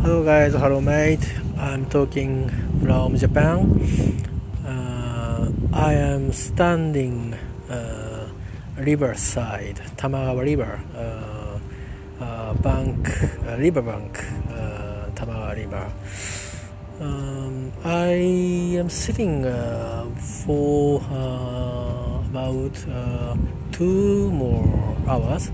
Hello guys, hello mate. I'm talking from Japan. I am standing riverside, Tamagawa River, riverbank, Tamagawa River. I am sitting for about 2 more hours.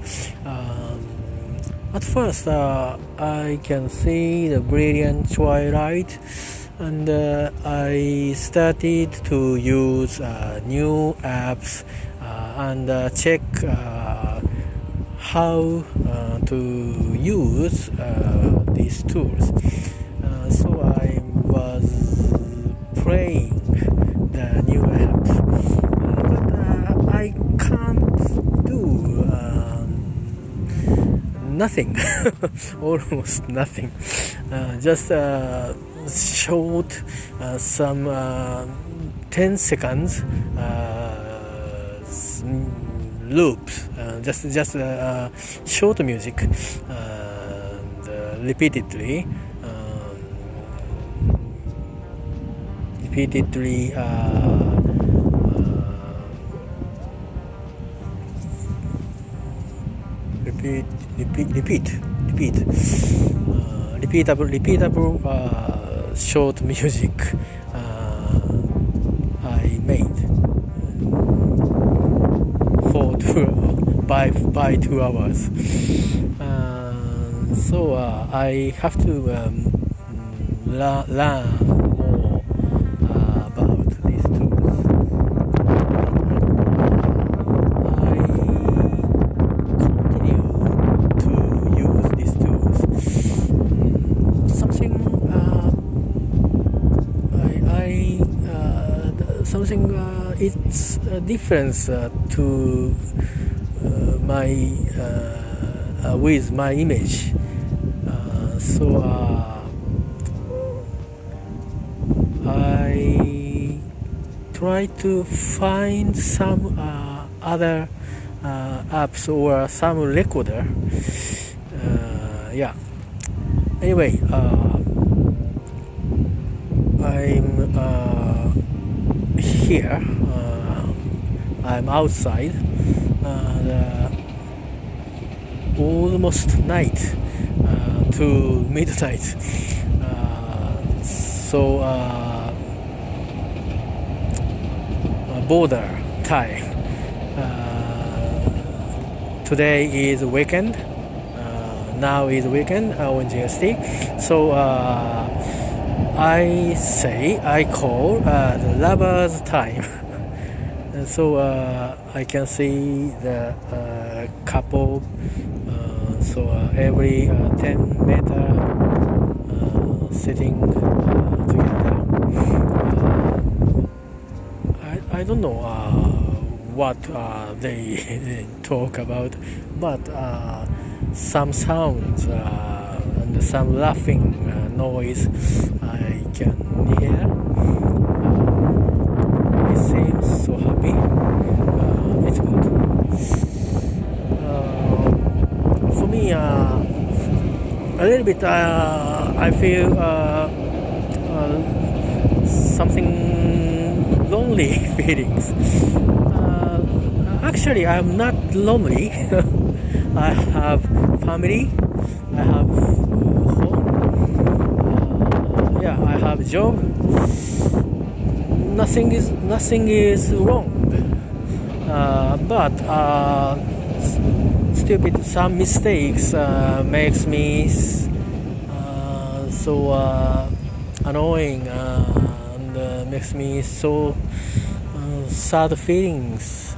At first, I can see the brilliant twilight, and I started to use new apps and check how to use these tools. So I was playing the new apps, but I can't do nothing, almost nothing. Just short, some 10 seconds loops, just short music, repeatedly. Repeatable short music I made for by 2 hours. So I have to learn more about these tools. I continue to use these tools. It's a difference to my with my image. So I try to find some other apps or some recorder. Anyway, I'm here. I'm outside. Almost night to midnight. So border time. Today is weekend. Now is weekend on GST. So I call the lovers time. So I can see the couple. So every 10 meter sitting together. I don't know what they talk about, but some sounds and some laughing noise I can hear. It seems so happy. It's good. For me, a little bit, I feel something lonely feelings. Actually, I'm not lonely. I have family. I have home. I have job. Nothing is wrong. But stupid, some mistakes makes me so annoying and makes me so sad feelings.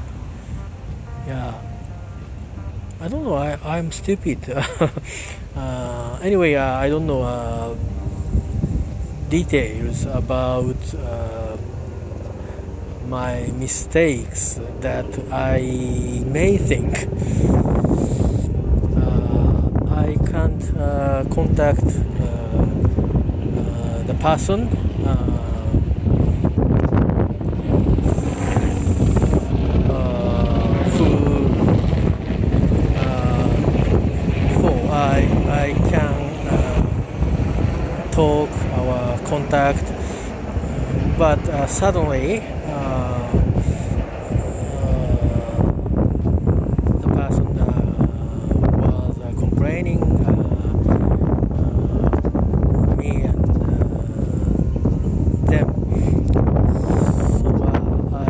I don't know, I'm stupid. Anyway, I don't know details about my mistakes that I may think. I can't contact the person who before I can contact, but suddenly the person was complaining me and them. So I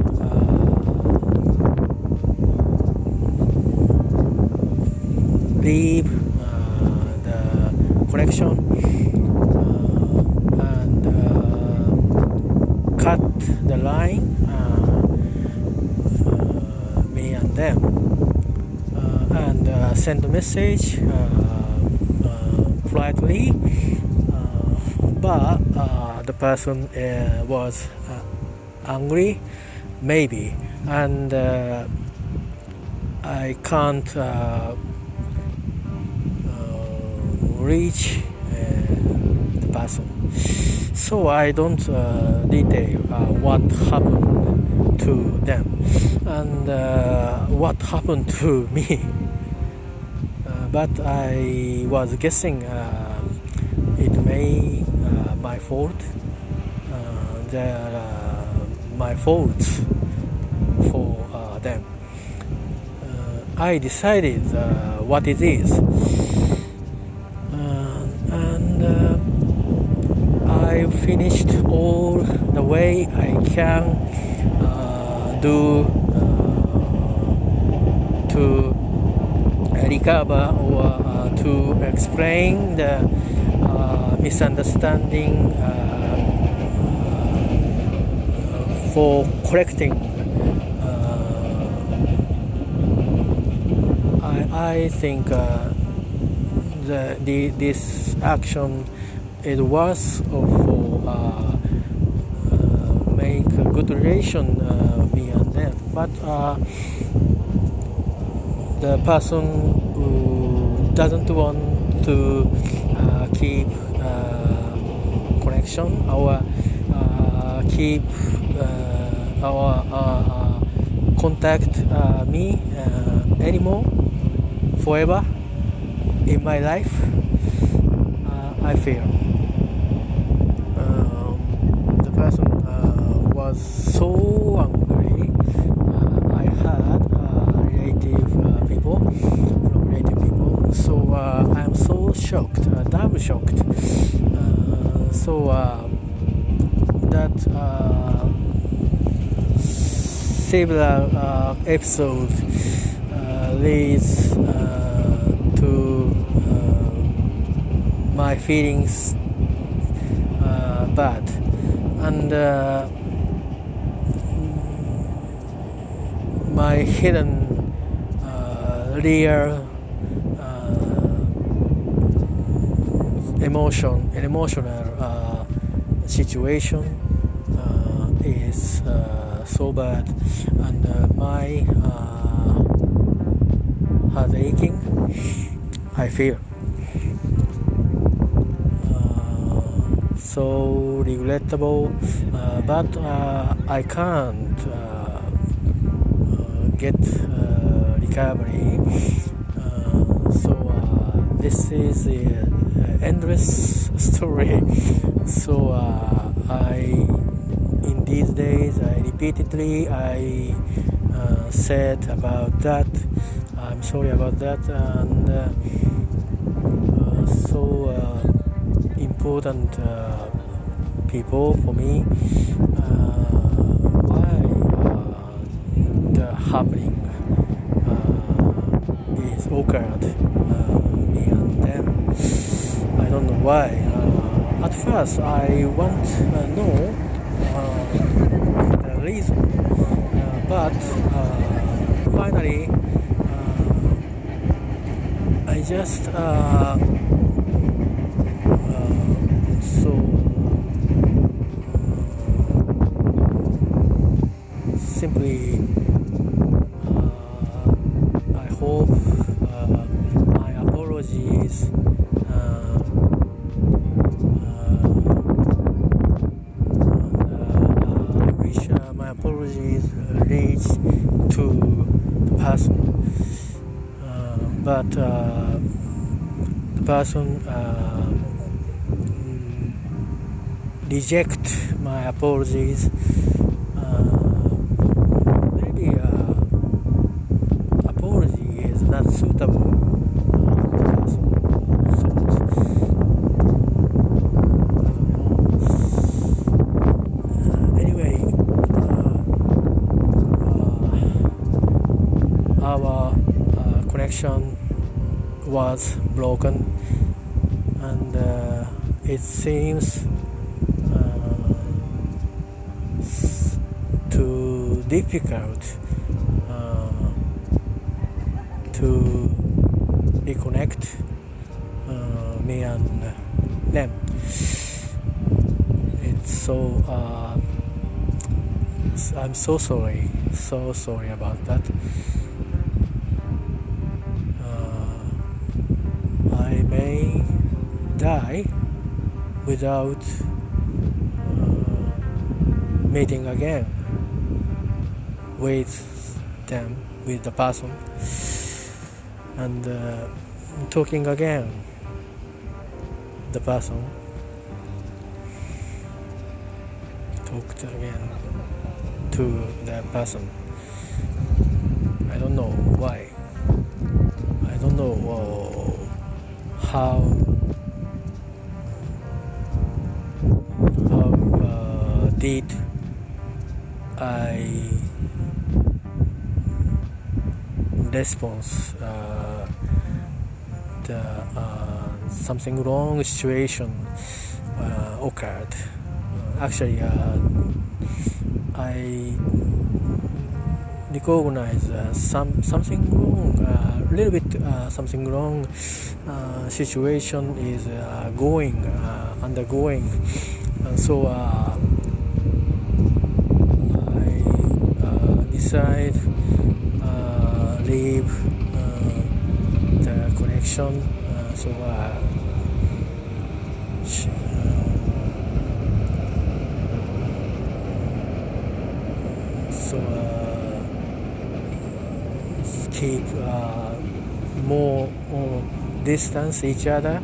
leave the connection and cut the line, me and them, and send a message politely, but the person was angry maybe, and I can't reach the person, so I don't detail what happened to them and what happened to me, but I was guessing it may my fault, my faults for them. I decided what it is, and I finished all the way I can do to recover or to explain the misunderstanding, for correcting. I think this action it was for make a good relation me and them, but the person who doesn't want to keep connection or keep our contact me anymore forever in my life, I feel the person was so angry. I had relative people, so I'm so shocked, double shocked. So that several episodes leads to my feelings bad, and my hidden real emotional situation is so bad, and my heart aching, I feel so regrettable, but I can't get recovery, so this is an endless story. So in these days I repeatedly said about that. I'm sorry about that, and so important people for me. Why the happening is occurred me and them? I don't know why. At first I want to know the reason, but finally I just so simply I hope my apologies I wish my apologies reach to the person, but the person reject my apologies. Maybe apology is not suitable. Anyway, our connection was broken, and it seems too difficult to reconnect me and them. It's so I'm so sorry about that. I may die without meeting again with them, with the person, and talking again the person, talked again to the person. I don't know why. I don't know how did I response the something wrong situation occurred. Actually, I recognize something wrong, a little bit something wrong situation is undergoing, so I decide leave the connection. Keep more distance each other.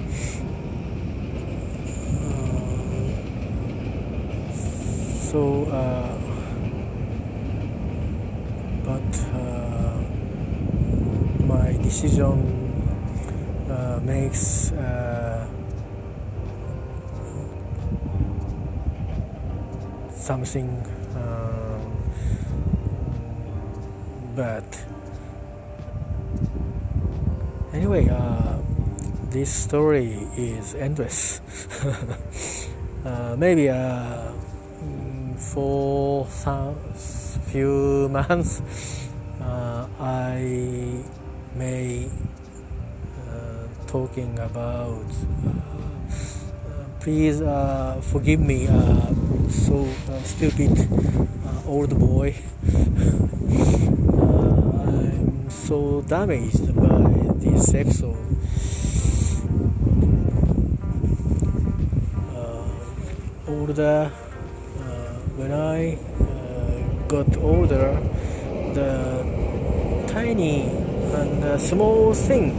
But my decision makes something bad. Anyway, this story is endless. Maybe for some few months I may talking about please forgive me, so stupid old boy. I'm so damaged by this episode. Older, when I got older, the tiny and small thing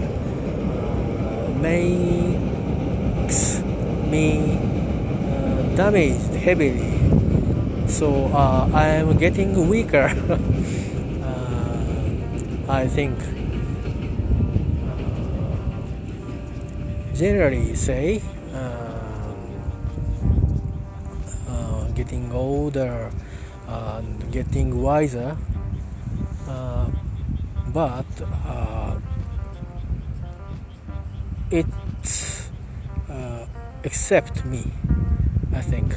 makes me damaged heavily. So I am getting weaker. I think generally say getting older and getting wiser, but it's except me, I think.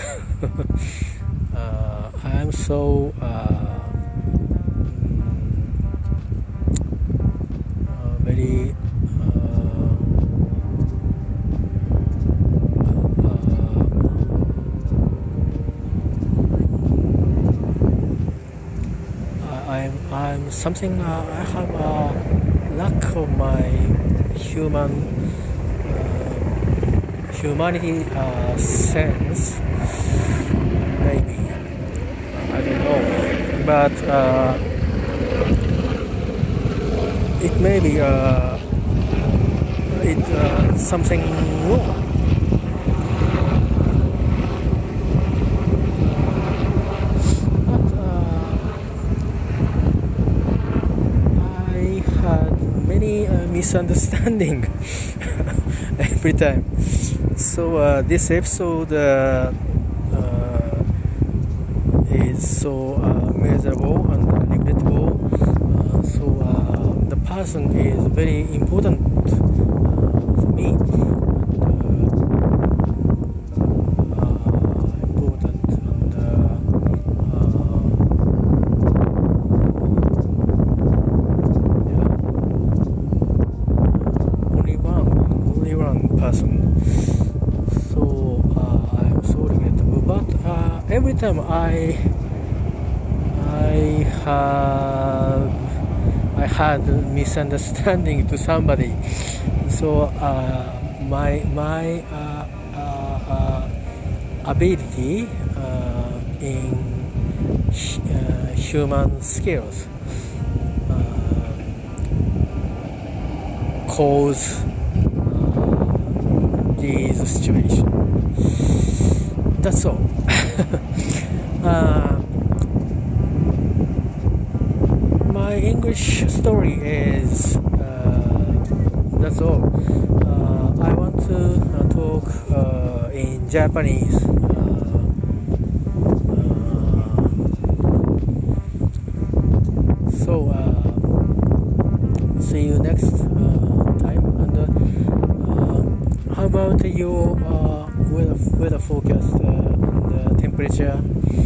I'm so very I'm something. I have a lack of my humanity sense. Maybe I don't know, but it may be something wrong. misunderstanding every time. So this episode is so miserable and regrettable. The person is very important for me. Every time I had misunderstanding to somebody, so my ability in human skills cause these situations. That's all. My English story is that's all. I want to talk in Japanese. See you next time. And how about your weather forecast and temperature?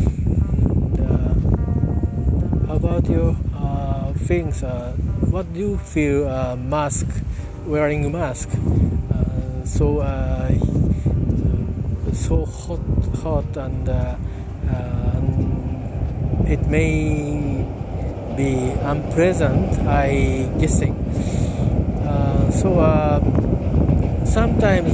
How about your things? What do you feel wearing a mask? So hot and it may be unpleasant, I guessing. Sometimes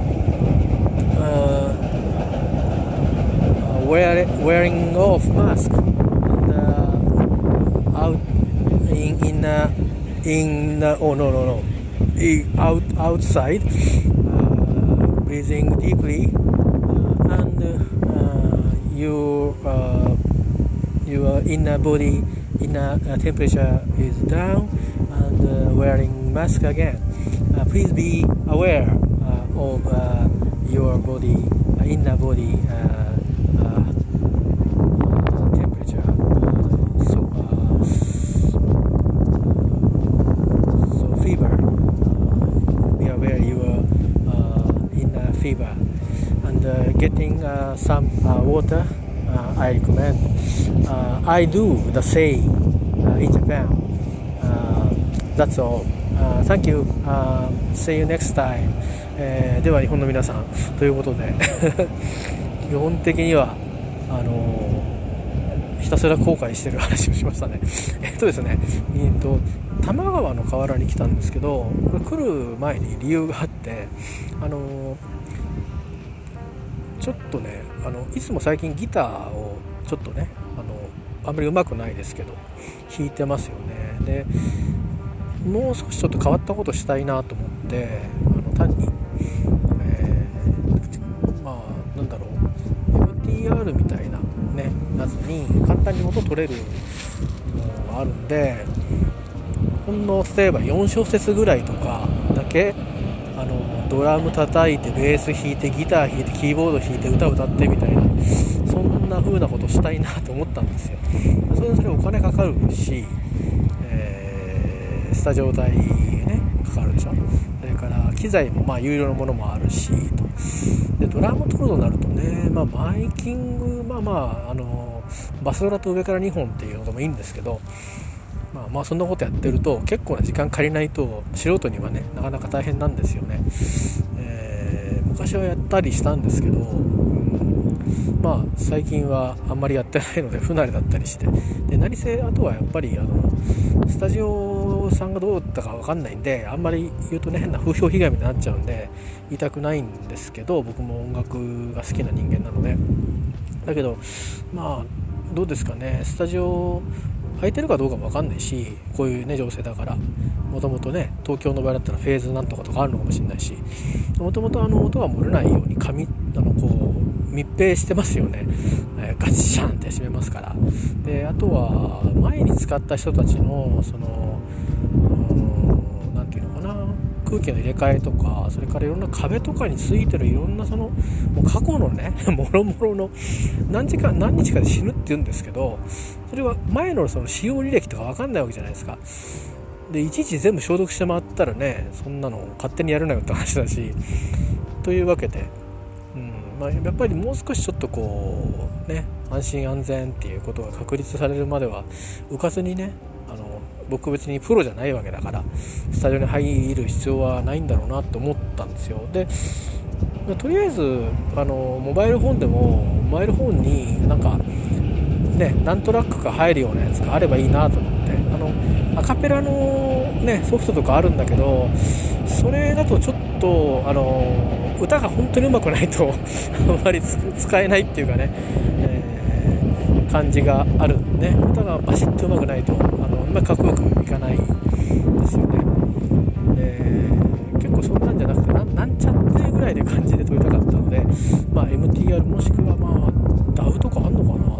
wearing off mask and out outside, breathing deeply, and your inner body temperature is down, and wearing mask again. Please be aware of your body, inner body temperature. So fever. Be aware your inner fever, and getting some water. I recommend. I do the same in Japan. That's all. Thank you. See you next time. では日本の皆さんということで基本的にはひたすら後悔してる話をしましたね。ですね、多摩川の河原に来たんですけど、これ来る前に理由があって、ちょっとね、いつも最近ギターをちょっとね、あんまり上手くないですけど弾いてますよね。で、もう少しちょっと変わったことしたいなと思って、単に、なんだろう、MTR みたいなねやつに簡単に音取れるのがあるんで、ほんの例えば4小節ぐらいとかだけドラム叩いてベース弾いてギター弾いてキーボード弾いて歌歌ってみたいな、そんな風なことしたいなと思ったんですよ。それお金かかるし、スタジオ代ねかかるでしょ。それから機材も有料のものもあるしと。でドラム取るとなるとね、マイキングバスドラと上から2本っていうのでもいいんですけど、そんなことやってると結構な時間借りないと素人にはねなかなか大変なんですよね。昔はやったりしたんですけど、最近はあんまりやってないので不慣れだったりして、で何せあとはやっぱりスタジオさんがどうだったか分かんないんで、あんまり言うとね変な風評被害みたいになっちゃうんで言いたくないんですけど、僕も音楽が好きな人間なので。だけどどうですかね、スタジオ空いてるかどうかも分かんないし、こういうね情勢だから、もともとね東京の場合だったらフェーズなんとかとかあるのかもしれないし、もともと音が漏れないようにこう密閉してますよね。ガチシャンって閉めますから。であとは前に使った人たちのなんていうのかな、 空気の入れ替えとか、それからいろんな壁とかについてるいろんなもう過去のねもろもろの何日かで死ぬって言うんですけど、それは前の使用履歴とか分かんないわけじゃないですか。でいちいち全部消毒して回ったらね、そんなの勝手にやるなよって話だし、というわけで、やっぱりもう少しちょっと安心安全っていうことが確立されるまでは浮かずにね、僕別にプロじゃないわけだからスタジオに入る必要はないんだろうなって思ったんですよ。でとりあえずモバイルフォンでもモバイルフォンに何トラックか入るようなやつがあればいいなと思って、アカペラの、ソフトとかあるんだけど、それだとちょっと歌が本当に上手くないとあんまり使えないっていうかね、感じがあるんでね、歌がバシッと上手くないとかっこよくいかないですよね。結構そんなんじゃなくてなんちゃってぐらいで感じで撮りたかったので、MTR もしくはDAW とかあんのかなと思って、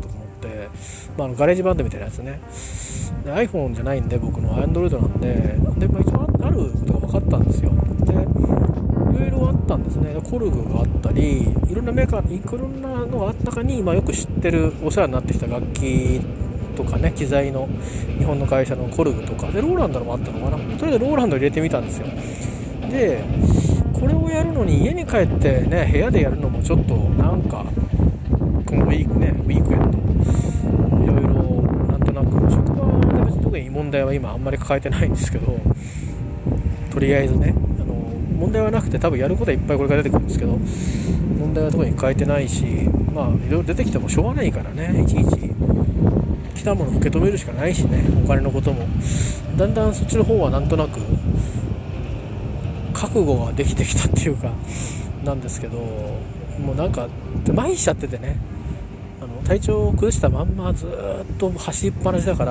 ガレージバンドみたいなやつね。で iPhone じゃないんで、僕の Android なんで、一応あることが分かったんですよ。でいろいろあったんですね。コルグがあったり、いろんなメーカー、いろんなのがあった中に、よく知ってるお世話になってきた楽器とかね、機材の日本の会社のコルグとかで、ローランドのもあったのかな。それでローランド入れてみたんですよ。でこれをやるのに家に帰ってね、部屋でやるのもちょっとこのウィークエンドいろいろなんとなく職場で別に特に問題は今あんまり抱えてないんですけど、とりあえずね問題はなくて、多分やることはいっぱいこれから出てくるんですけど、問題は特に変えてないし、いろいろ出てきてもしょうがないからね、いちいち来たものを受け止めるしかないしね、お金のこともだんだんそっちの方はなんとなく覚悟ができてきたっていうかなんですけど、もう麻痺しちゃっててね、体調を崩したまんまずっと走りっぱなしだから、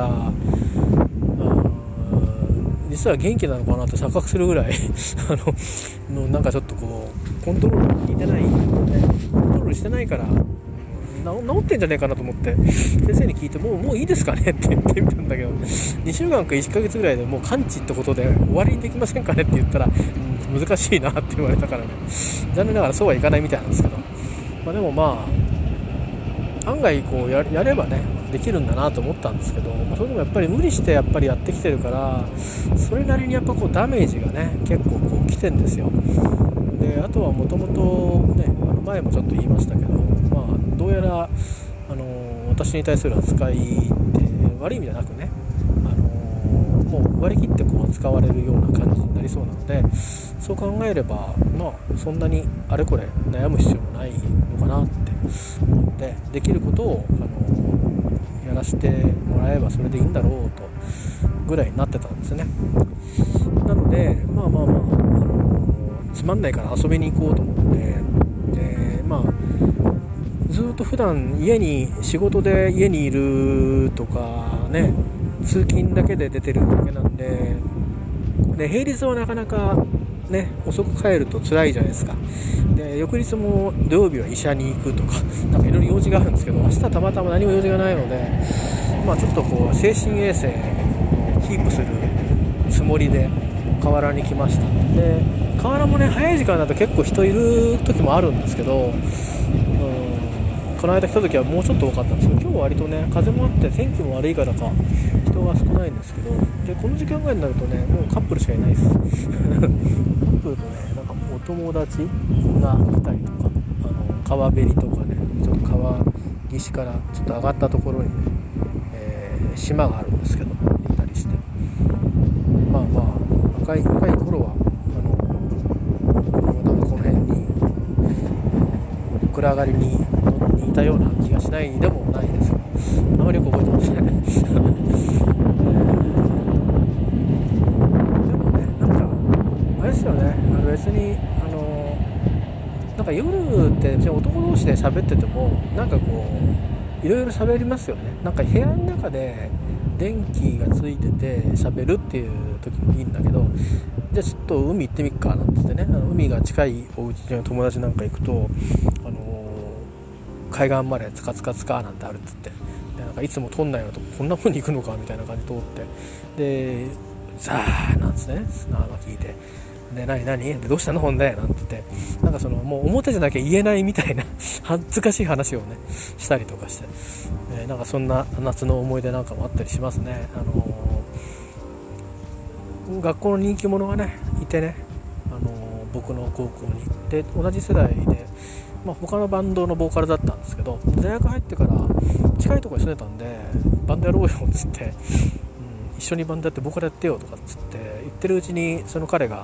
実は元気なのかなって錯覚するぐらいちょっとコントロール効いてない、コントロールしてないから治ってんじゃねえかなと思って先生に聞いて、もういいですかねって言ってみたんだけど、2週間か1ヶ月ぐらいでもう完治ってことで終わりにできませんかねって言ったら、難しいなって言われたからね、残念ながらそうはいかないみたいなんですけど、でも案外やればねできるんだなと思ったんですけど、それでもやっぱり無理してやってきてるから、それなりにやっぱダメージがね結構来てんですよ。であとはもともとね、前もちょっと言いましたけど、どうやら私に対する扱いって悪い意味じゃなくね、もう割り切って扱われるような感じになりそうなので、そう考えればそんなにあれこれ悩む必要もないのかなって思って、できることをやらせてもらえばそれでいいんだろうとぐらいになってたんですね。なのでつまんないから遊びに行こうと思って、でずっと普段仕事で家にいるとかね、通勤だけで出てるだけなんで、平日はなかなかね遅く帰ると辛いじゃないですか。で翌日も土曜日は医者に行くとかいろいろ用事があるんですけど、明日たまたま何も用事がないので、ちょっと精神衛生をキープするつもりで河原に来ました。で河原もね早い時間だと結構人いる時もあるんですけど、この間来た時はもうちょっと多かったんですけど、今日は割とね風もあって天気も悪いからか人が少ないんですけど、でこの時間ぐらいになるとねもうカップルしかいないですカップルとねお友達が来たりとか、川べりとかね、ちょっと川岸からちょっと上がったところにね、島があるんですけど行ったりして、若い頃はこの辺に暗がりにいたような気がしないでもないですけど、あまりよく覚えてませんねでもねあれですよね、別に夜って男同士で喋っててもいろいろ喋りますよね。部屋の中で電気がついてて喋るっていう時もいいんだけど、じゃあちょっと海行ってみっかなんて言ってね、海が近いお家の友達なんか行くと海岸までつかつかつかなんてあるっつって、でいつも通んないようなとここんな風に行くのかみたいな感じで通って、でザーなんですね、砂が効いて、 で何でどうしたのほんでなんて言って、なんかそのもう表じゃなきゃ言えないみたいな恥ずかしい話をねしたりとかして、なんかそんな夏の思い出なんかもあったりしますね。学校の人気者がねいてね、僕の高校にで同じ世代で、他のバンドのボーカルだったんですけど、大学入ってから近いところに住んでたんでバンドやろうよっつって、一緒にバンドやってボーカルやってよとかっつって言ってるうちに、その彼が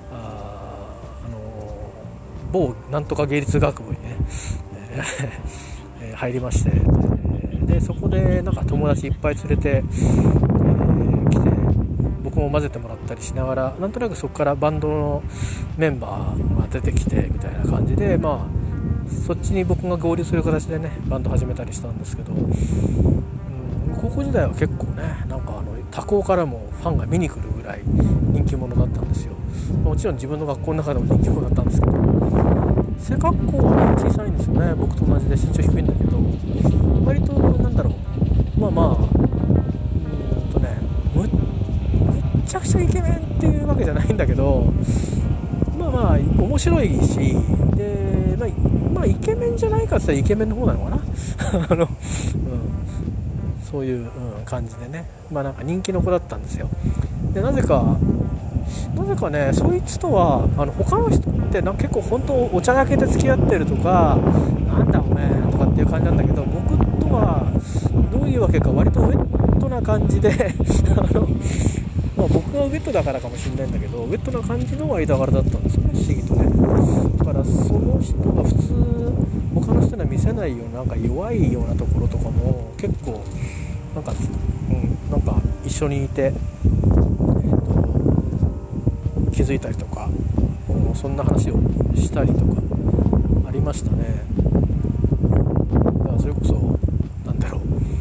某なんとか芸術学部にね、入りまして、でそこでなんか友達いっぱい連れて、来て僕も混ぜてもらったりしながら、なんとなくそこからバンドのメンバーが出てきてみたいな感じで、そっちに僕が合流する形でねバンド始めたりしたんですけど、高校時代は結構ねなんか他校からもファンが見に来るぐらい人気者だったんですよ。もちろん自分の学校の中でも人気者だったんですけど、背格好はね小さいんですよね。僕と同じで身長低いんだけど、割となんだろう、むっちゃくちゃイケメンっていうわけじゃないんだけど、面白いし、でイケメンじゃないかって言ったらイケメンの方なのかなそういう、感じでね、なんか人気の子だったんですよ。でなぜかね、そいつとは他の人って結構本当お茶だけで付き合ってるとか、なんだおめえとかっていう感じなんだけど、僕とはどういうわけか割とウェットな感じで僕がウェットだからかもしれないんだけど、ウェットな感じの間柄だったんですよね、不思議とね。だからその人が普通他の人には見せないような、なんか弱いようなところとかも結構なんか一緒にいて、気づいたりとか、そんな話をしたりとかありましたね。だからそれこそなんだろう、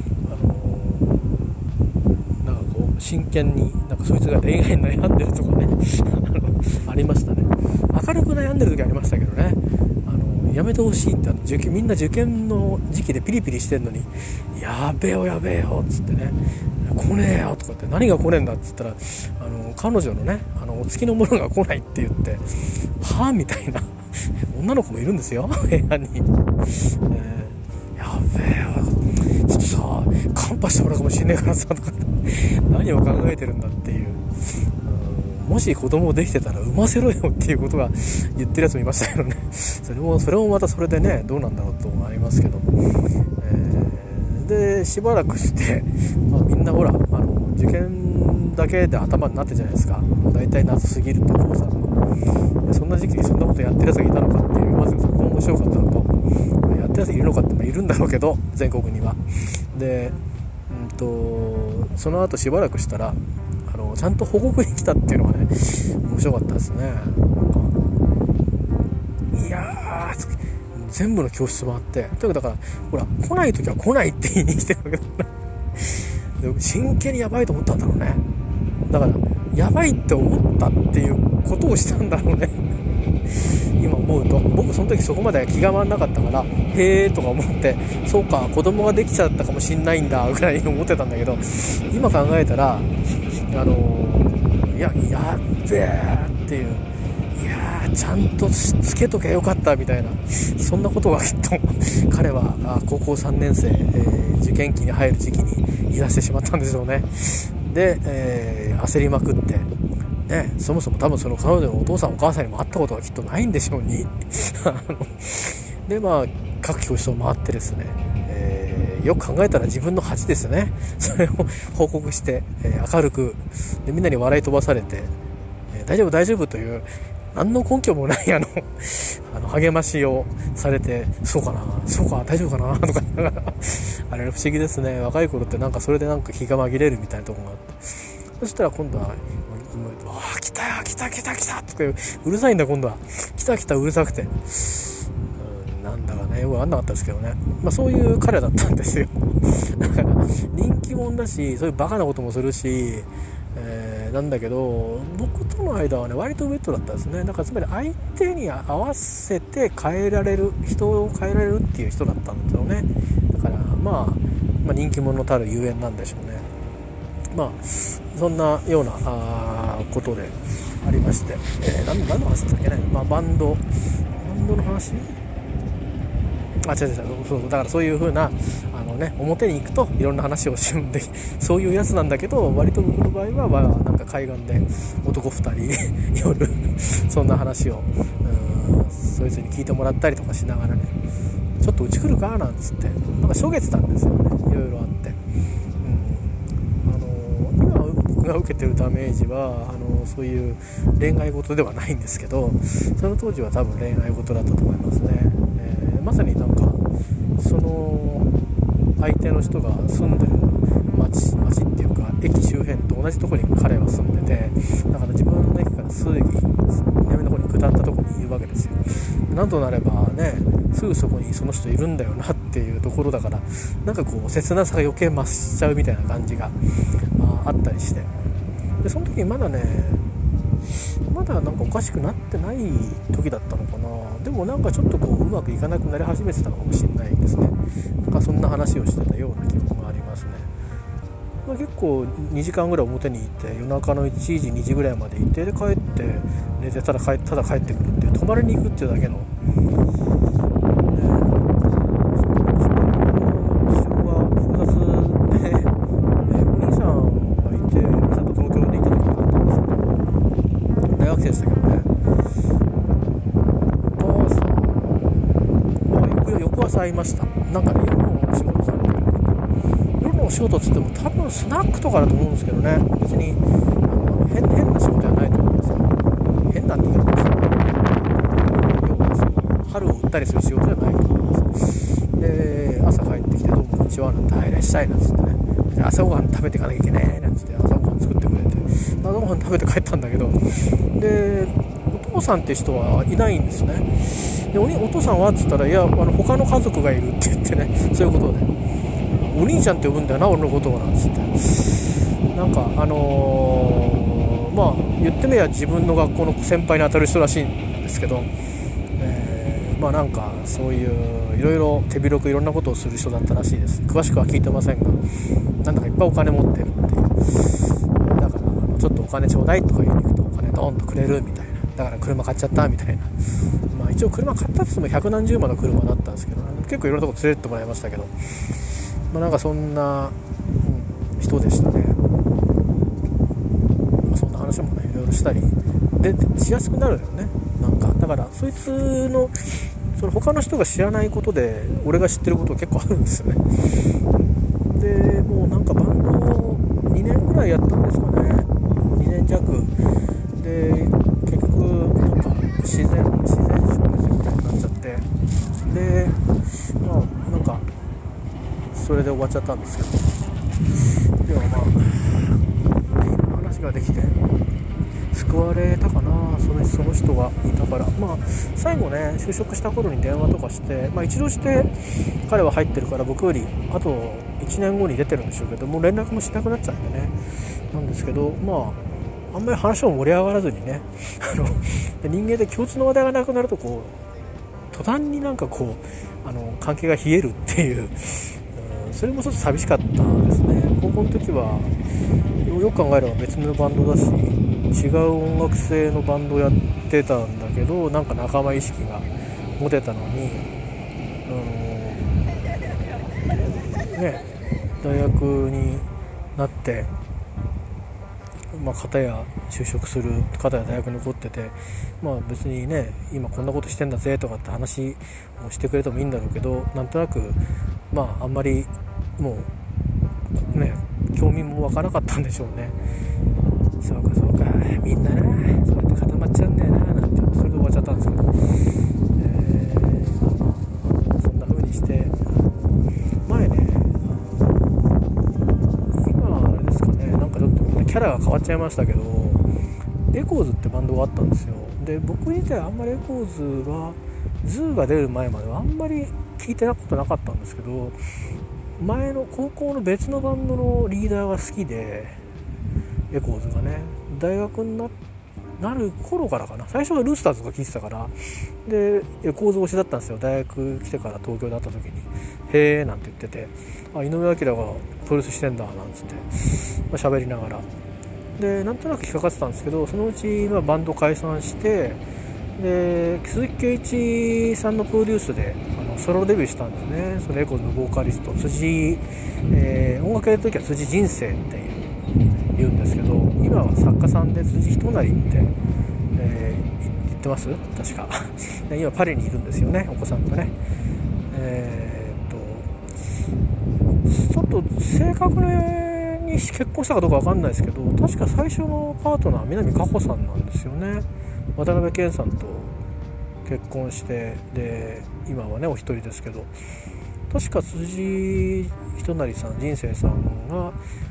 真剣にそいつが恋愛に悩んでるとかねありましたね。明るく悩んでる時ありましたけどね、やめてほしいって、みんな受験の時期でピリピリしてんのに、やべえよっつってね、来ねえよとかって、何が来ねえんだっつったら、彼女のねお付きの者が来ないって言って、はぁみたいな女の子もいるんですよ部屋に、やべえよちょっとさカンパしてもらうかもしんねえからさとか何を考えてるんだっていう、もし子供できてたら産ませろよっていうことが言ってるやつもいましたけどねそれもまたそれでねどうなんだろうと思いますけど、でしばらくして、みんなほら受験だけで頭になってるじゃないですか。だいたい夏過ぎると高3の、そんな時期にそんなことやってるやつがいたのかっていう、まずそこも面白かったのと、やってるやついるのかって、いるんだろうけど全国には。でその後しばらくしたらちゃんと報告に来たっていうのがね面白かったですね。いやー全部の教室回って、というかだからほら来ない時は来ないって言いに来てるわけだで真剣にやばいと思ったんだろうね。だからやばいって思ったっていうことをしたんだろうね今思うと、僕その時そこまで気が回んなかったから、へーとか思って、そうか子供ができちゃったかもしんないんだぐらいに思ってたんだけど、今考えたらやっべーっていう、いやーちゃんとつけとけよかったみたいな、そんなことがきっと彼は高校3年生、受験期に入る時期に言い出してしまったんでしょうね。で、焦りまくってね、そもそも多分その彼女のお父さんお母さんにも会ったことがきっとないんでしょうにで各教室を回ってですね、よく考えたら自分の恥ですよね。それを報告して、明るくでみんなに笑い飛ばされて、大丈夫という何の根拠もない励ましをされて、そうか大丈夫かなとか言いながらあれ不思議ですね。若い頃ってそれで気が紛れるみたいなところがあって、そしたら今度は来たとかうるさいんだ。今度は来たうるさくて、なんだかねよく分かんなかったですけどね、そういう彼だったんですよだから人気者だし、そういうバカなこともするし、なんだけど僕との間はね割とウェットだったんですね。だからつまり相手に合わせて人を変えられるっていう人だったんですよね。だから人気者たるゆえんなんでしょうね。 そんなようなことでありまして、何の話だっけね、バンドの話、違うそうだからそういう風な表に行くといろんな話をするんでそういうやつなんだけど、割と僕の場合は、なんか海岸で男2人夜そんな話をそいつに聞いてもらったりとかしながらね、ちょっとうち来るかなんつってなんかしょげてたんですよね、いろいろあって、今僕が受けてるダメージはそういう恋愛事ではないんですけど、その当時は多分恋愛事だったと思いますね。まさになんかその相手の人が住んでる町っていうか駅周辺と同じところに彼は住んでて、だから自分の駅から数駅南の方に下ったところにいるわけですよ。なんとなればね、すぐそこにその人いるんだよなっていうところだから、なんかこう切なさが余計増しちゃうみたいな感じが、あったりして、でその時にまだなんかおかしくなってない時だったのかな。でもなんかちょっとこううまくいかなくなり始めてたのかもしれないですね。なんかそんな話をしてたような記憶がありますね。結構2時間ぐらい表にいて、夜中の1時2時ぐらいまでいて、で帰って寝てただ帰ってくるっていう、泊まりに行くっていうだけの、事情が複雑で、お兄さんがいて、ちゃんと東京でいた時があったんですけど、大学生でしたけどね、お母さんは翌朝会いました。なんかね、夜のお仕事されてる、夜のお仕事っつっても多分スナックとかだと思うんですけどね、別に変な仕事はないと思いますよ。変なんて言い方ですよ。要はその春を売ったりする仕事じゃないと思います。で朝帰ってきて、どうもこんにちはなんて、いらっしゃいなんつってね、朝ごはん食べていかなきゃいけないなんつって朝ごはん作ってくれて、朝ごはん食べて帰ったんだけど、でお父さんって人はいないんですね。でお父さんはっつったら、いや他の家族がいるって言ってね、そういうことで、お兄ちゃんって呼ぶんだよな俺のことをなんつって、なんか言ってみれば自分の学校の先輩に当たる人らしいんですけど、なんかそういういろいろ手広くいろんなことをする人だったらしいです。詳しくは聞いてませんが、なんだかいっぱいお金持ってるっていう、だからちょっとお金ちょうだいとか言いに行くとお金ドーンとくれるみたいな、だから車買っちゃったみたいな、一応車買ったって言っても百何十万の車だったんですけど、結構いろんなとこ連れてってもらいましたけど、なんかそんな、人でしたね。そんな話もねいろいろしたりでしやすくなるよね。なんかだからそいつのその他の人が知らないことで俺が知ってることが結構あるんですよね。でもうなんかバンドを2年ぐらいやったんですかね、2年弱で結局なんか自然消滅みたいになっちゃって、でなんかそれで終わっちゃったんですけど、でも話ができて救われたかな、その人がいたから。最後ね就職した頃に電話とかして、一度して彼は入ってるから僕よりあと1年後に出てるんでしょうけど、もう連絡もしなくなっちゃうんでね、なんですけど、あんまり話も盛り上がらずにね人間で共通の話題がなくなるとこう途端になんかこう関係が冷えるっていうそれもちょっと寂しかったですね。高校の時はよく考えれば別のバンドだし、違う音楽性のバンドやってたんだけど、なんか仲間意識が持てたのに、大学になって、片や就職する、片や大学に残ってて、別にね今こんなことしてんだぜとかって話をしてくれてもいいんだろうけど、なんとなくあんまりもうね興味も湧かなかったんでしょうね。そうかみんななそうやって固まっちゃうんだよななんて、それで終わっちゃったんですけど、そんな風にして前ね、今あれですかね、なんかちょっとキャラが変わっちゃいましたけど、エコーズってバンドがあったんですよ。で僕自体あんまりエコーズはズーが出る前まではあんまり聞いてたことなかったんですけど、前の高校の別のバンドのリーダーが好きで、エコーズがね大学になる頃からかな、最初はルースターズとか聞いてたから、でエコーズ推しだったんですよ。大学来てから東京で会った時にへーなんて言ってて、井上彰がプロレスしてんだなんつって喋りながらでなんとなく引っかかってたんですけど、そのうちバンド解散して、で鈴木圭一さんのプロデュースでソロデビューしたんですね。そのレコードのボーカリスト辻、音楽やるときは辻人生って言うんですけど、今は作家さんで辻仁成って、言ってます確か今パリにいるんですよね、お子さんとね。ちょっと正確に結婚したかどうか分かんないですけど、確か最初のパートナー南果歩さんなんですよね。渡辺謙さんと結婚して、で今はねお一人ですけど、確か辻仁成さん人生さんが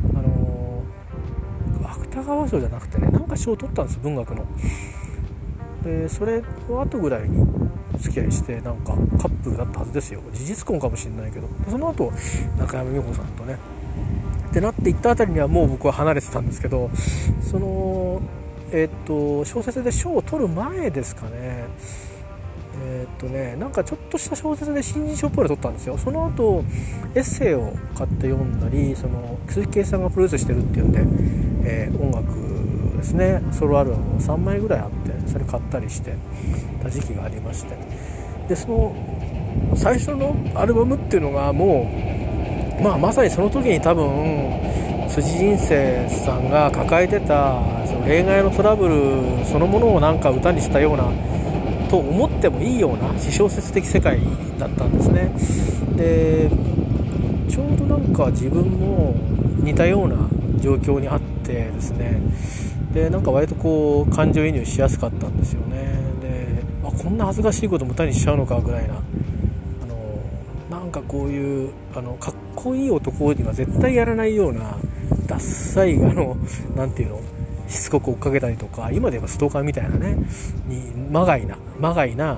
芥川賞じゃなくてね、なんか賞を取ったんです、文学の。でそれの後ぐらいにお付き合いして、なんかカップルだったはずですよ。事実婚かもしれないけど、その後中山美穂さんとねってなっていったあたりにはもう僕は離れてたんですけど、その小説で賞を取る前ですかね。なんかちょっとした小説で新人賞っぽいの取ったんですよ。その後エッセイを買って読んだり、その鈴木圭さんがプロデュースしてるっていうんで、音楽ですね、ソロアルバム3枚ぐらいあって、それ買ったりしてた時期がありまして、でその最初のアルバムっていうのがもう、まさにその時に多分辻人生さんが抱えてたその恋愛のトラブルそのものをなんか歌にしたようなと思ってもいいような私小説的世界だったんですね。でちょうどなんか自分も似たような状況にあってですね、でなんか割とこう感情移入しやすかったんですよね。でこんな恥ずかしいことも歌にしちゃうのかぐらいな、なんかこういうかっこいい男には絶対やらないようなダッサいなんていうの、しつこく追っかけたりとか、今で言えばストーカーみたいなねにまがいな、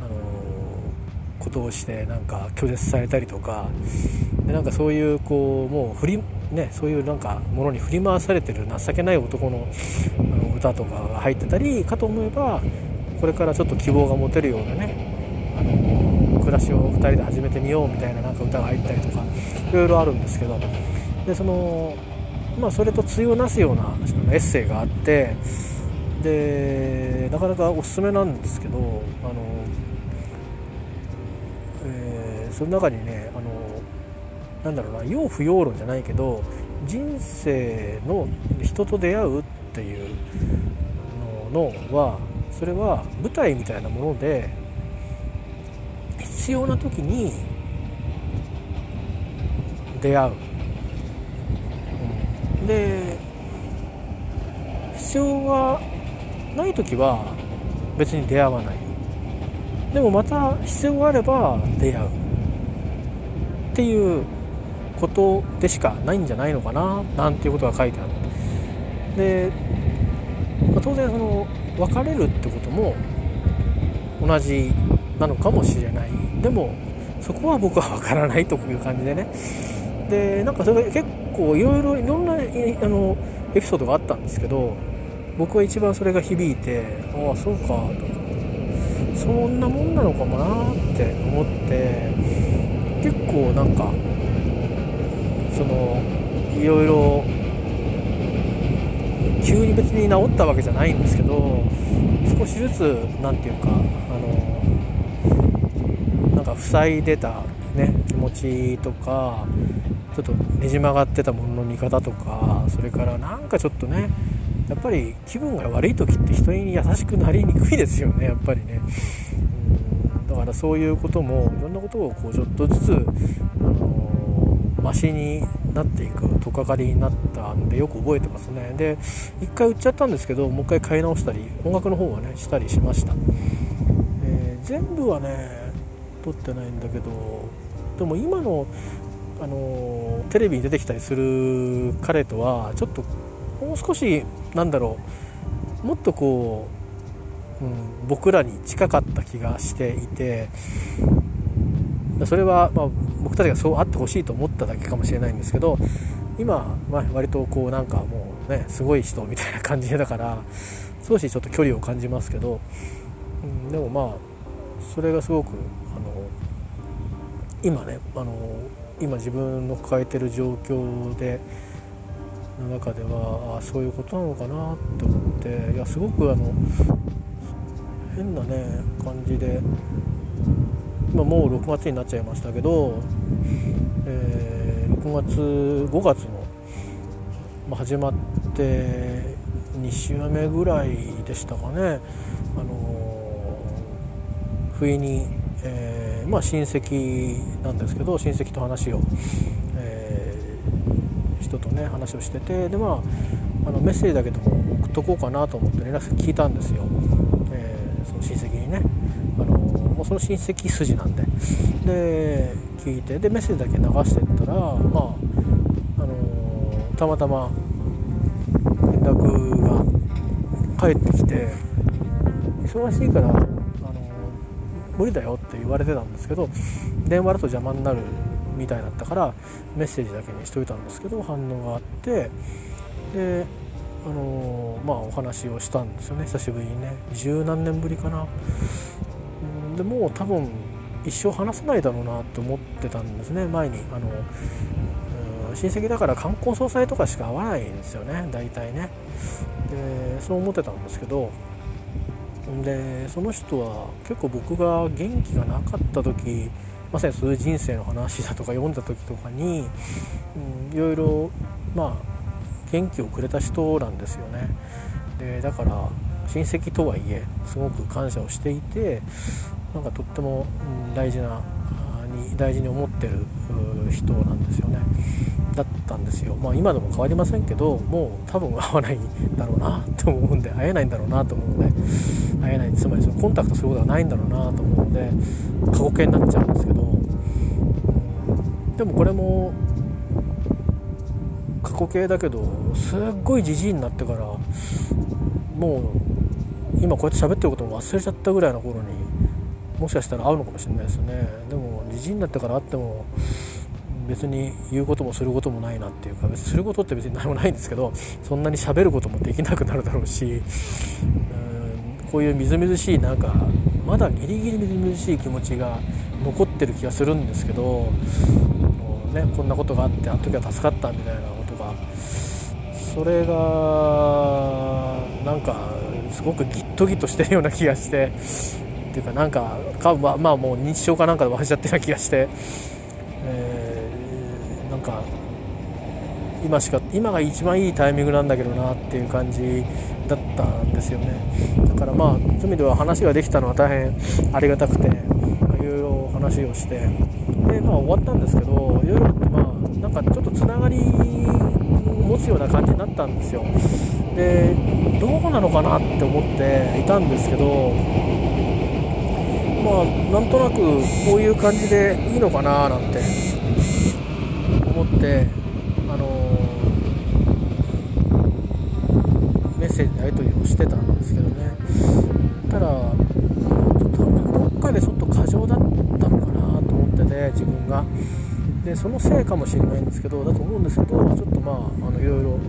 ことをしてなんか拒絶されたりとかで、なんかそういうこうもうそういうなんかものに振り回されてる情けない男の、歌とかが入ってたりかと思えば、これからちょっと希望が持てるようなね、暮らしを2人で始めてみようみたいな、なんか歌が入ったりとかいろいろあるんですけど、でそれと対をなすようなエッセイがあって、でなかなかおすすめなんですけど、その中にねなんだろうな、要不要論じゃないけど、人生の人と出会うっていうのは、それは舞台みたいなもので必要な時に出会う、で必要がない時は別に出会わない、でもまた必要があれば出会うっていうことでしかないんじゃないのかな、なんていうことが書いてある。で、当然その別れるってことも同じなのかもしれない。でもそこは僕は分からないという感じでね。でなんかそれが結構いろんなエピソードがあったんですけど、僕は一番それが響いて、ああそうかと、そんなもんなのかもなって思って、結構なんかいろいろ急に別に治ったわけじゃないんですけど、少しずつなんていうかなんか塞いでたね気持ちとか、ちょっとねじ曲がってたものの見方とか、それからなんかちょっとね、やっぱり気分が悪い時って人に優しくなりにくいですよね、やっぱりね。だからそういうこともいろんなことをこうちょっとずつマシになっていく取っかかりになったんでよく覚えてますね。で一回売っちゃったんですけど、もう一回買い直したり音楽の方はねしたりしました。全部はね撮ってないんだけど、でも今のテレビに出てきたりする彼とはちょっともう少しなんだろう、もっとこう、僕らに近かった気がしていて、それは、僕たちがそうあってほしいと思っただけかもしれないんですけど、今、割とこうなんかもうねすごい人みたいな感じだから少しちょっと距離を感じますけど、でもそれがすごく今ね今自分の抱えてる状況での中ではそういうことなのかなって思って、いやすごく変なね感じで、もう6月になっちゃいましたけど、5月の、始まって2週目ぐらいでしたかね、不意に、親戚なんですけど、親戚と話を、人とね話をしてて、でメッセージだけでも送っとこうかなと思って連絡先聞いたんですよ、その親戚にね、もうその親戚筋なんで、聞いて、でメッセージだけ流してったら、たまたま連絡が返ってきて、忙しいから無理だよって言われてたんですけど、電話だと邪魔になるみたいだったからメッセージだけにしといたんですけど、反応があって、でお話をしたんですよね、久しぶりにね、十何年ぶりかな。でもう多分一生話せないだろうなと思ってたんですね。前に親戚だから冠婚葬祭とかしか会わないんですよね、大体ね。でそう思ってたんですけど、でその人は結構僕が元気がなかった時、まさにそういう人生の話だとか読んだ時とかに、いろいろ元気をくれた人なんですよね。でだから親戚とはいえすごく感謝をしていて、とっても大事に思ってる人なんですよね。だったんですよ。今でも変わりませんけど、もう多分会わないんだろうなと思うんで、会えないんだろうなと思うので、会えない、つまりそのコンタクトすることがないんだろうなと思うので過去形になっちゃうんですけど、でもこれも過去形だけど、すっごいじじいになってから、もう今こうやって喋ってることも忘れちゃったぐらいの頃にもしかしたら会うのかもしれないですね。でもじじいになってから会っても別に言うこともすることもないなっていうか、別にすることって別に何もないんですけど、そんなに喋ることもできなくなるだろうし、こういうみずみずしい、まだギリギリみずみずしい気持ちが残ってる気がするんですけど、もうね、こんなことがあってあの時は助かったみたいなことが、それがすごくギットギットしてるような気がして、っていうかもう認知症かなんかで忘れちゃってるような気がして、今が一番いいタイミングなんだけどなっていう感じだったんですよね。だからそういう意味では話ができたのは大変ありがたくて、いろいろ話をして、で終わったんですけど、いろいろちょっとつながりを持つような感じになったんですよ。でどうなのかなって思っていたんですけど、なんとなくこういう感じでいいのかななんて思って、メッセージのやり取りをしてたんですけどね。ただどっかでちょっと過剰だったのかなと思ってて、自分が。でそのせいかもしれないんですけど、だと思うんですけど、ちょっといろいろ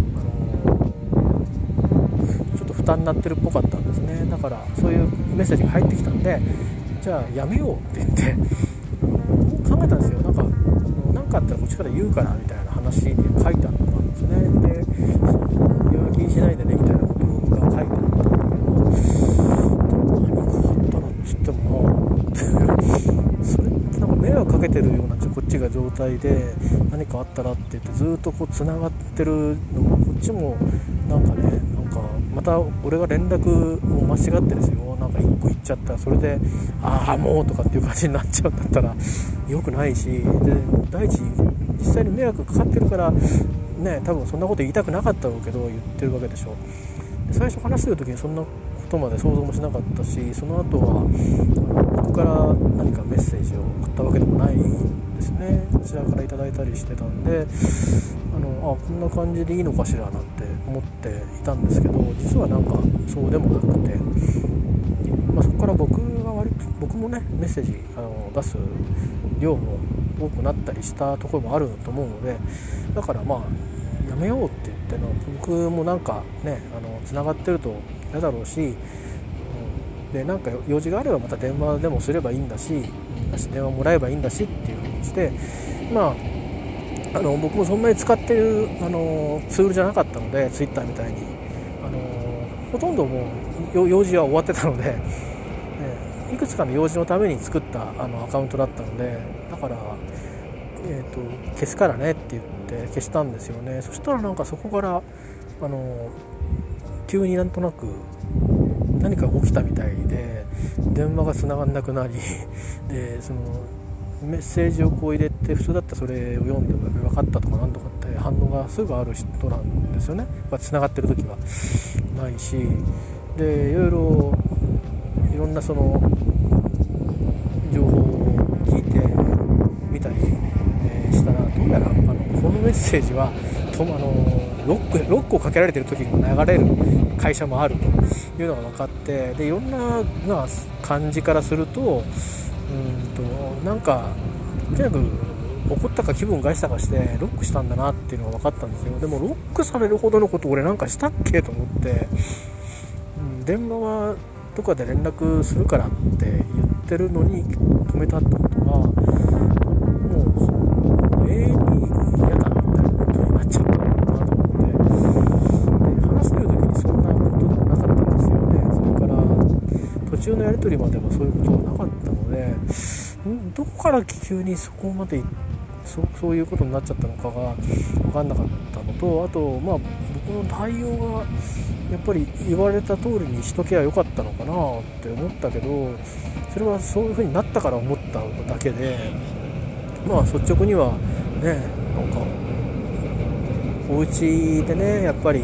ちょっと負担になってるっぽかったんですね。だからそういうメッセージが入ってきたんで、じゃあやめようって言って考えたんですよ。なんかあったらこっちから言うからみたいな話に書いてあったんですね。でいろいろ気にしないでねみたいなことが書いてあったんだけど、何かあったらっつってもそれって迷惑かけてるようなこっちが状態で、何かあったらって言ってずっとつながってるのも、こっちもまた俺が連絡を間違ってですよ、1個言っちゃったらそれでもうとかっていう感じになっちゃうんだったら良くないし、で第一実際に迷惑かかってるからね、多分そんなこと言いたくなかったろうけど言ってるわけでしょ。で最初話してる時にそんなことまで想像もしなかったし、その後は僕から何かメッセージを送ったわけでもないですね。こちらからいただいたりしてたんで、こんな感じでいいのかしらなんて思っていたんですけど、実はそうでもなくて、そこから僕もねメッセージ出す量も多くなったりしたところもあると思うので、だからやめようって言って僕もつながってると嫌だろうし、で用事があればまた電話でもすればいいんだし、電話もらえばいいんだしっていう風にして、 僕もそんなに使ってるツールじゃなかったので、ツイッターみたいにほとんどもう用事は終わってたので、いくつかの用事のために作ったアカウントだったので、だから、消すからねって言って消したんですよね。そしたらなんかそこから急になんとなく何か起きたみたいで、電話が繋がんなくなりで、そのメッセージをこう入れて、普通だったらそれを読んでも分かったとかなんとかって反応がすぐある人なんですよね。繋がってる時はないし、でいろんなその情報を聞いてみたり、したら、どうやらこのメッセージはロックをかけられてる時にも流れる会社もあるというのが分かって、でいろんな感じからすると、なんかとにかく怒ったか気分害したかしてロックしたんだなっていうのが分かったんですよ。でもロックされるほどのこと俺なんかしたっけと思って、電話はとかで連絡するからって言ってるのに止めたってことは、もう永遠に嫌だみたいなことになっちゃったのかなと思って、で話してる時にそんなことでもなかったんですよね。それから途中のやり取りまでもそういうことがなかったので、どこから急にそこまでそういうことになっちゃったのかが分かんなかったのと、あと僕の対応がやっぱり言われた通りにしとけばよかったのかなって思ったけど、それはそういう風になったから思っただけで、率直にはね、なんかお家でね、やっぱりこ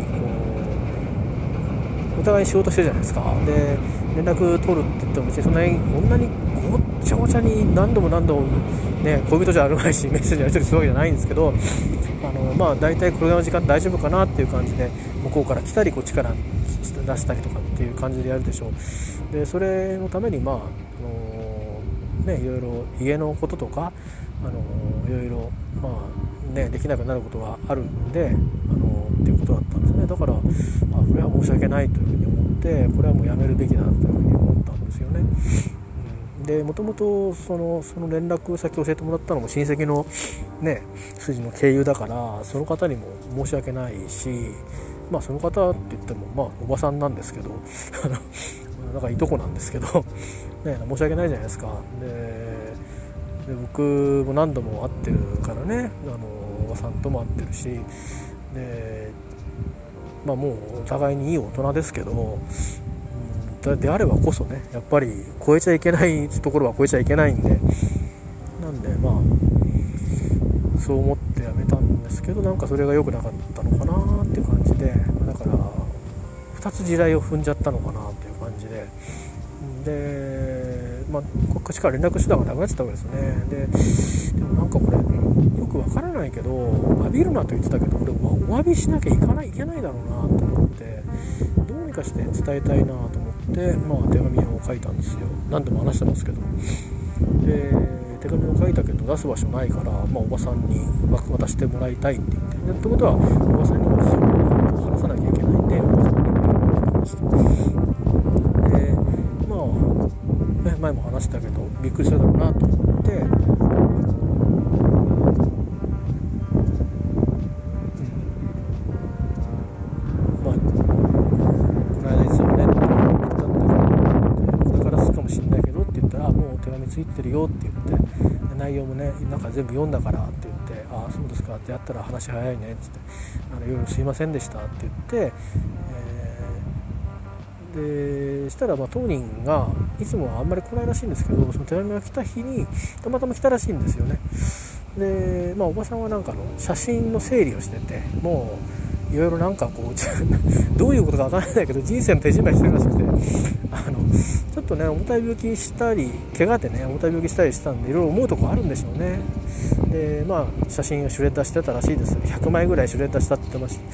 うお互い仕事してるじゃないですか。で連絡取るって言っても別にそんなにごっちゃごちゃに何度もね、恋人じゃあるまいしメッセージやり取りするわけじゃないんですけど、大体これの時間大丈夫かなっていう感じで向こうから来たりこっちから出したりとかっていう感じでやるでしょう。でそれのためにいろいろ家のこととかいろいろできなくなることがあるんでっていうことだったんですね。だからこれは申し訳ないというふうに思って、これはもうやめるべきだというふうに思ったんですよね。でもともとその連絡先を教えてもらったのも親戚のね筋の経由だから、その方にも申し訳ないし、その方って言ってもおばさんなんですけどなんかいとこなんですけどね、申し訳ないじゃないですか。で僕も何度も会ってるからね、おばさんとも会ってるし、でもうお互いにいい大人ですけど、であればこそね、やっぱり超えちゃいけないところは超えちゃいけないんで、なんでそう思ってやめたんですけど、なんかそれが良くなかったのかなっていう感じで、だから2つ地雷を踏んじゃったのかなっていう感じで、こっちから連絡手段がなくなっちゃったわけですよね。でもなんかこれよくわからないけど、詫びるなと言ってたけど、これお詫びしなきゃいけないだろうなと思って、どうにかして伝えたいなと思って、手紙を書いたんですよ。何度も話してますけど。で手紙を書いたけど出す場所ないから、おばさんに渡してもらいたいって言って、ってことはおばさんにも事情を話さなきゃいけないんで、おばさんにも話して、で前も話したけどびっくりするだろうなと思って、この間ですよねって言ったんだけど、これからするかもしれないけどって言ったら、もう手紙ついてるよって言って、内容もねなんか全部読んだからって言って、そうですかってやったら話早いねって言って、いろいろすいませんでしたって言って、でしたら当人がいつもはあんまり来ないらしいんですけど、その手紙が来た日にたまたま来たらしいんですよね。でおばさんはなんか写真の整理をしてて、もういろいろなんかこうどういうことかわからないけど人生の手締まいしてるらしくて、ちょっとね重たい病気したり怪我でね重たい病気したりしたんで、いろいろ思うとこあるんでしょうね。で写真をシュレッダーしてたらしいです。100枚ぐらいシュレッダーしたって言ってました。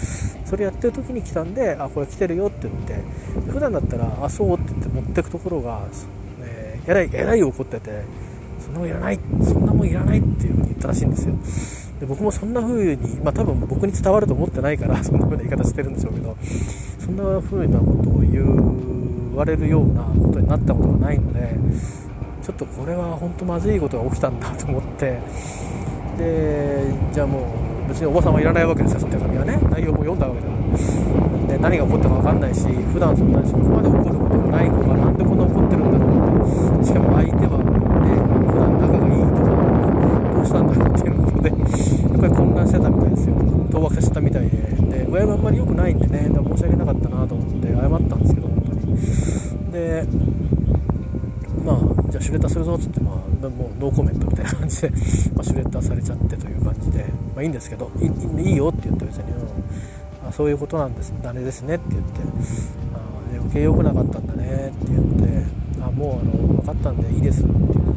それやってる時に来たんで、これ来てるよって言って、普段だったらそうって言って持ってくところが、えらい怒ってて、そんなもんいらないっていう風に言ったらしいんですよ。で僕もそんな風に、多分僕に伝わると思ってないからそんな風な言い方してるんでしょうけど、そんな風なことを言われるようなことになったことがないので、ちょっとこれは本当まずいことが起きたんだと思って、 でじゃあもう別におばさんはいらないわけですよ、その手紙はね。内容も読んだわけだからで、何が起こったか分かんないし、普段そこまで起こることがない子がなんでこんな起こってるんだろうって、しかも相手はね、普段仲がいいところなのにどうしたんだろうっていうことでやっぱり混乱してたみたいですよ。当惑させたみたいで、親はあんまり良くないんでね、だから申し訳なかったなと思って謝ったんですけど、本当に。でまあじゃあシュレッダーするぞっつって、もうノーコメントみたいな感じでシュレッダーされちゃってという感じで、いいんですけど、いいよって言って別に、そういうことなんです、ダメですねって言って、余計良くなかったんだねって言って、もう分かったんでいいですって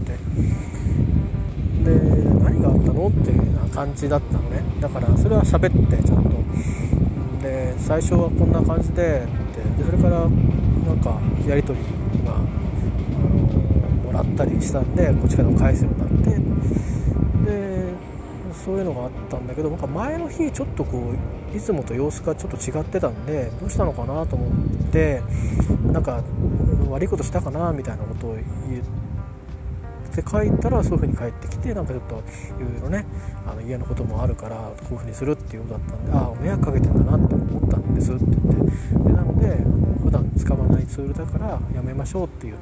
言って、で何があったのっていうような感じだったのね。だからそれは喋ってちゃんとで、最初はこんな感じでそれからなんかやり取りがもらったりしたんで、こっちからも返すようになって、でそういうのがあったんだけど、なんか前の日ちょっとこういつもと様子がちょっと違ってたんで、どうしたのかなと思って、なんか悪いことしたかなみたいなことを言って書いたら、そういう風に返ってきて、なんかちょっといろいろね、家のこともあるからこういう風にするっていうことだったんで、迷惑かけてんだなって思ったんですって言って、でなので普段使わないツールだからやめましょうって言って、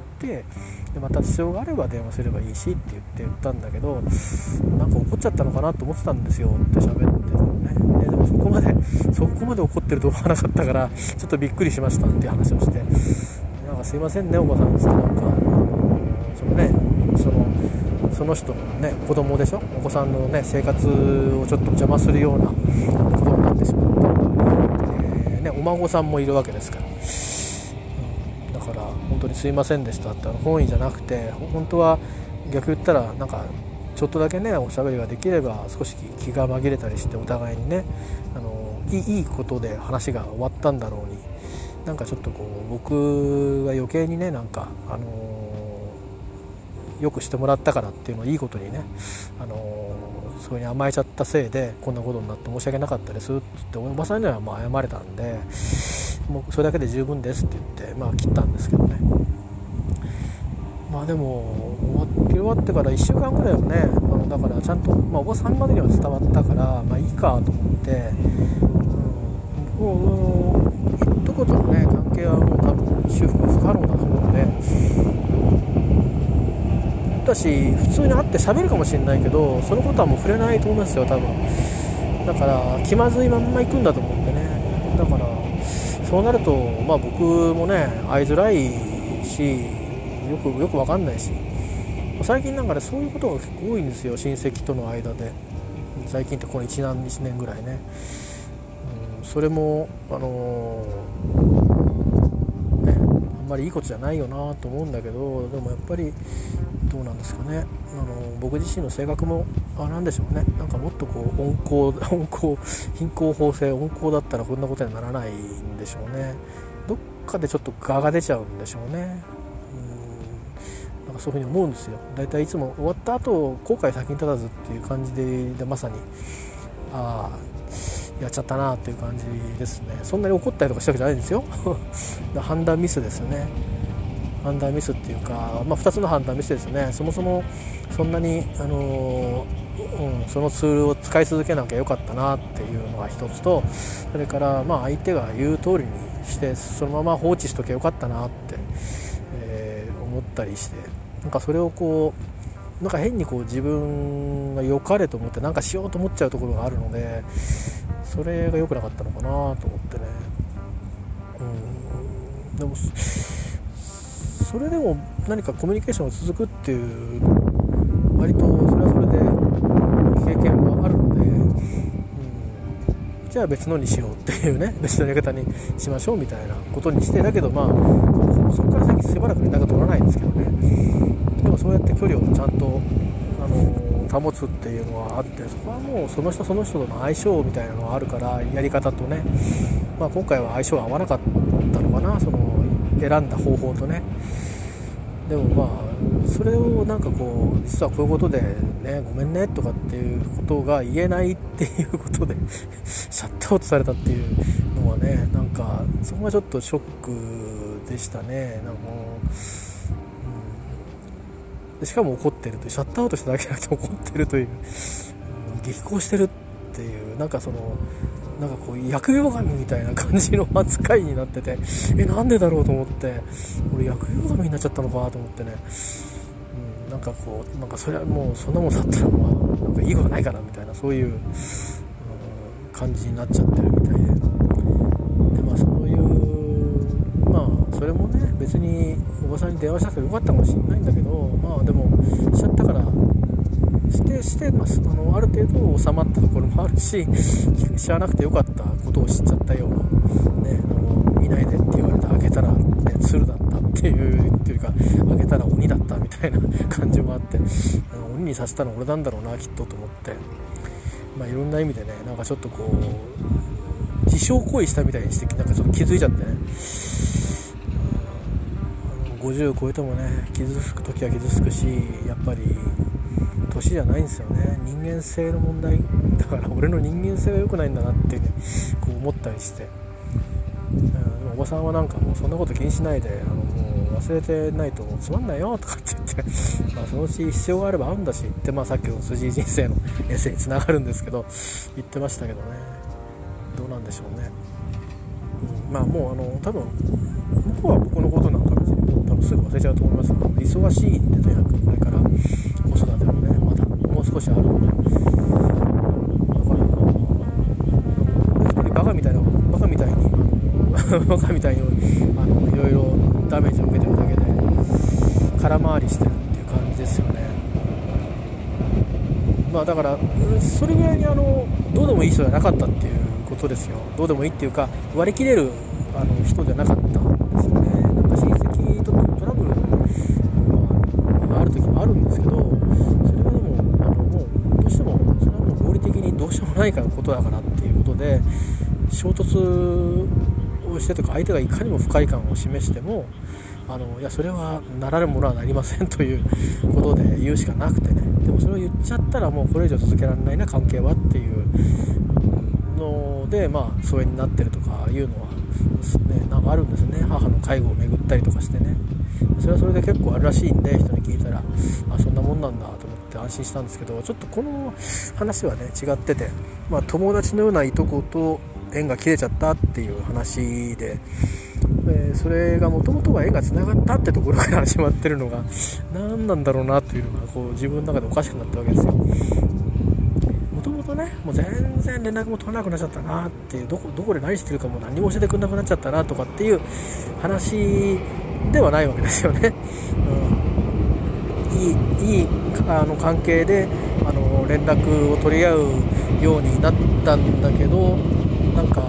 でまた必要があれば電話すればいいしって言ったんだけど、なんか怒っちゃったのかなと思ってたんですよって喋ってたのね。でもそこまで怒ってると思わなかったから、ちょっとびっくりしましたっていう話をして、なんかすいませんねおばさんですけど、なんかその人のね子供でしょ、お子さんのね生活をちょっと邪魔するようなことになってしまって、お孫さんもいるわけですから、だから本当にすいませんでしたって、本意じゃなくて、本当は逆言ったらなんかちょっとだけねおしゃべりができれば少し気が紛れたりして、お互いにねいいことで話が終わったんだろうに、なんかちょっとこう僕が余計にね、なんかよくしてもらったからっていうのをいいことにね、それに甘えちゃったせいでこんなことになって申し訳なかったですって言って、おばさんにはまあ謝れたんで、もうそれだけで十分ですって言って、切ったんですけどね。でも終わってから1週間ぐらいはね、だからちゃんと、おばさんまでには伝わったから、いいかと思って、もう一言のね関係はもう多分修復不可能だと思うんで、だし普通に会って喋るかもしれないけど、そのことはもう触れないと思いますよ多分。だから気まずいまんま行くんだと思うんでね。だからそうなると僕もね会いづらいし、よく分かんないし、最近なんかねそういうことが結構多いんですよ、親戚との間で。最近ってこの1年ぐらいね、それもあんまりいいことじゃないよなと思うんだけど、でもやっぱりどうなんですかね、僕自身の性格もなんでしょうね、なんかもっとこう貧困法制温厚だったらこんなことにはならないんでしょうね。どっかでちょっと我が出ちゃうんでしょうね。なんかそういうふうに思うんですよ。だいたいいつも終わった後後悔先に立たずっていう感じでまさにやっちゃったなっていう感じですね。そんなに怒ったりとかしたわけじゃないんですよ判断ミスですよね。判断ミスっていうか、2つの判断ミスですよね。そもそもそんなに、そのツールを使い続けなきゃよかったなっていうのが一つと、それから相手が言う通りにしてそのまま放置しときゃよかったなって、思ったりして、なんかそれをこうなんか変にこう自分が良かれと思ってなんかしようと思っちゃうところがあるので、それが良くなかったのかなと思ってね。でもそれでも何かコミュニケーションが続くっていうの割とそれはそれで経験はあるので、じゃあ別のにしようっていうね、別のやり方にしましょうみたいなことにして、だけどそこから先しばらく連絡取らないんですけどね。でもそうやって距離をちゃんと保つっていうのはあって、そこはもうその人その人との相性みたいなのがあるから、やり方とね、今回は相性が合わなかったのかな、その選んだ方法とね。でもそれをなんかこう実はこういうことでねごめんねとかっていうことが言えないっていうことでシャットアウトされたっていうのはね、なんかそこがちょっとショックでしたね。なんかでしかも怒ってるという、シャットアウトしただけじゃなくて怒ってるという、 激高してるっていう、なんかこう疫病神みたいな感じの扱いになってて、なんでだろうと思って、俺疫病神になっちゃったのかと思ってね、なんかそれはもうそんなもんだったらなんかいいことないかなみたいな、そういう、感じになっちゃってるみたいで、そういうそれもね、別におばさんに電話しなくてよかったかもしれないんだけど、でもしちゃったからしてます。ある程度収まったところもあるし、知らなくてよかったことを知っちゃったような、ね、見ないでって言われて開けたら、ね、鶴だったっていうか、開けたら鬼だったみたいな感じもあって、鬼にさせたの俺なんだろうなきっとと思って、いろんな意味でね、なんかちょっとこう自傷行為したみたいにして、なんかちょっと気づいちゃってね、50超えてもね、傷つく時は傷つくし、やっぱり年じゃないんですよね、人間性の問題だから、俺の人間性は良くないんだなってね、こう思ったりして、おばさんはなんかもうそんなこと気にしないで、もう忘れてないとつまんないよとかって言ってそのうち必要があれば会うんだしって、さっきの辻井人生のエッセイにつながるんですけど言ってましたけどね、どうなんでしょうね。もう多分向こうは僕のことなんか別にもう多分すぐ忘れちゃうと思います。忙しいんで、とにかくこれから子育てもね、まだもう少しあるので、だから一人バカみたいにいろいろダメージを受けてるだけで空回りしてるっていう感じですよね。だからそれぐらいにどうでもいい人じゃなかったっていうことですよ。どうでもいいっていうか、割り切れる人じゃなかったんですよね。なんか親戚とトラブルがある時もあるんですけど、それはでももうどうしてもそれはもう合理的にどうしようもないからことだからっていうことで、衝突をしてとか、相手がいかにも不快感を示してもいやそれはなられるものはなりませんということで言うしかなくてね。でもそれを言っちゃったらもうこれ以上続けられないな関係はっていうので、疎遠になってるとかいうのは、ね、なんかあるんですね。母の介護を巡ったりとかしてね、それはそれで結構あるらしいんで、人に聞いたらそんなもんなんだと思って安心したんですけど、ちょっとこの話はね違ってて、友達のようないとこと縁が切れちゃったっていう話で、それがもともとは縁がつながったってところから始まってるのが何なんだろうなというのがこう自分の中でおかしくなったわけですよ。もともとね、もう全然連絡も取らなくなっちゃったなっていう、どこで何してるかも何も教えてくれなくなっちゃったなとかっていう話ではないわけですよね。いい関係で連絡を取り合うようになったんだけど、なんか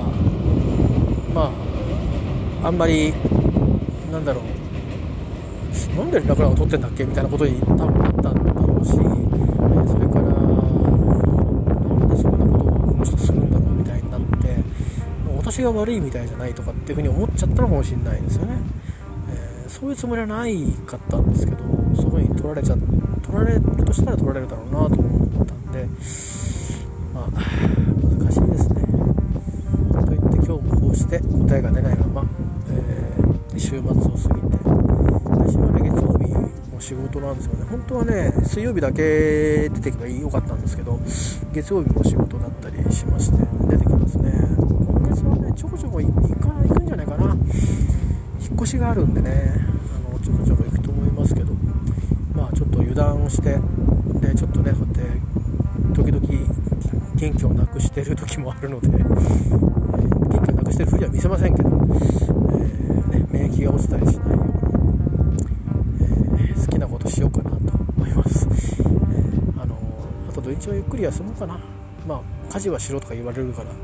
あんまりなんだろう、なんで連絡なんか取ってんだっけみたいなことに多分なったんだろうし、それからなんでそんなことをこの人するんだろうみたいになって、私が悪いみたいじゃないとかっていうふうに思っちゃったのかもしれないですよね。そういうつもりはないかったんですけど、そういうふうに取られるとしたら取られるだろうなと思ったんで、難しいですね。と言って今日もこうして答えが出ないまま、週末を過ぎて、来週はね月曜日も仕事なんですよね。本当はね水曜日だけ出てけばよかったんですけど、月曜日も仕事だったりしまして出てきますね。今月はねちょこちょこ行くんじゃないかな。引っ越しがあるんでね、ちょこちょこ行くと思いますけど、ちょっと油断をして、でちょっとねそうやって時々元気をなくしている時もあるので、元気をなくしているふりは見せませんけど、免疫が落ちたりしないように、好きなことしようかなと思います。あと土日はゆっくり休もうかな。家事はしろとか言われるから、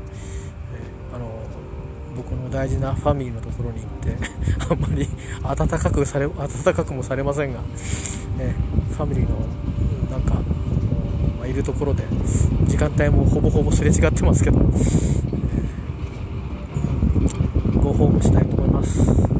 僕の大事なファミリーのところに行ってあんまり温かくもされませんが、ファミリーのなんかいるところで時間帯もほぼほぼすれ違ってますけど、ご訪問したいと思います。